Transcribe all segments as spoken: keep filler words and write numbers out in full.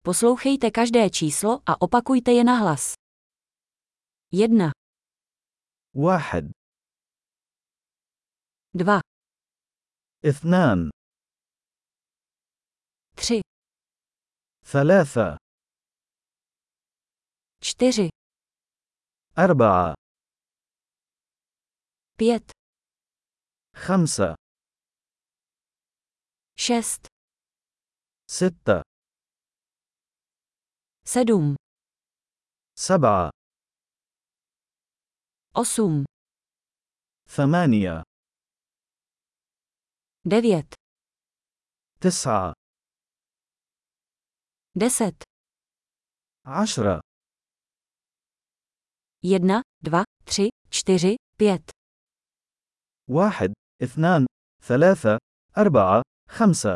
Poslouchejte každé číslo a opakujte je nahlas. Jedna, واحد dva, اثنان tři, ثلاثة čtyři, أربعة pět, خمسة šest, ستة sedm, سبعة osm, ثمانية devět, تسعة deset, عشرة jedna, dva, tři, čtyři, pět, واحد اثنان ثلاثة أربعة خمسة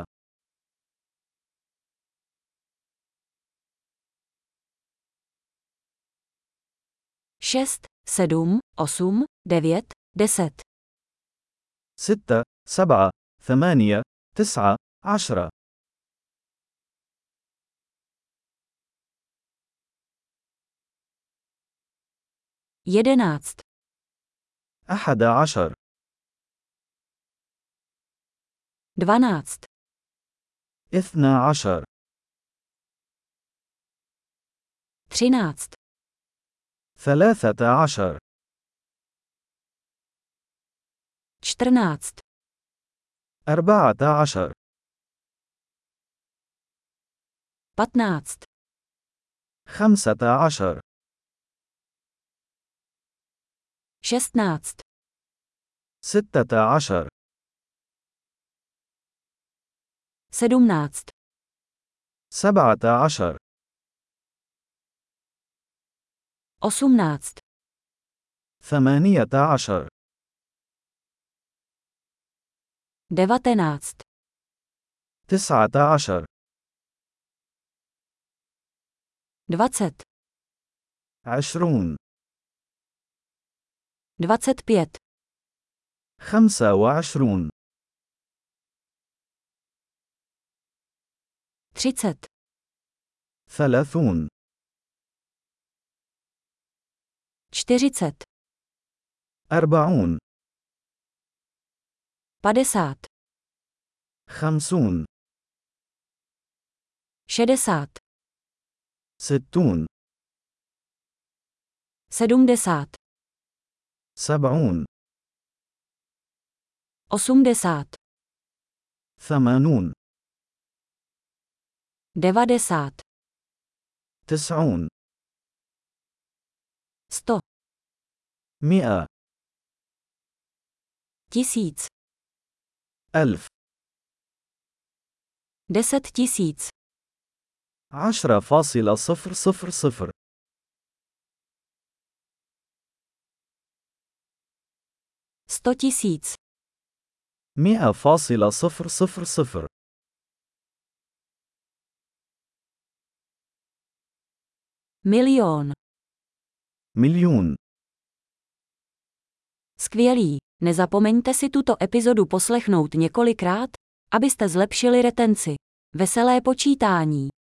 šest, sedm, osm, devět, deset, ستة سبعة ثمانية تسعة عشرة jedenáct, أحد عشر dvanáct, اثنا عشر třináct, ثلاثة عشر čtrnáct, أربعة عشر patnáct, خمسة عشر šestnáct, ستة عشر sedmnáct, سبعة عشر osmnáct, ثمانية عشر devatenáct, تسعة عشر dvacet, عشرون dvacet pět, خمسة وعشرون třicet, ثلاثون čtyřicet, أربعون padesát, خمسون šedesát, ستون sedmdesát, سبعون osmdesát, ثمانون devadesát, تسعون sto, مئة tisíc, ألف deset tisíc, عشرة فاصلة صفر صفر صفر sto tisíc, مئة فاصلة صفر صفر صفر milion. مليون. Skvělý. Nezapomeňte si tuto epizodu poslechnout několikrát, abyste zlepšili retenci. Veselé počítání.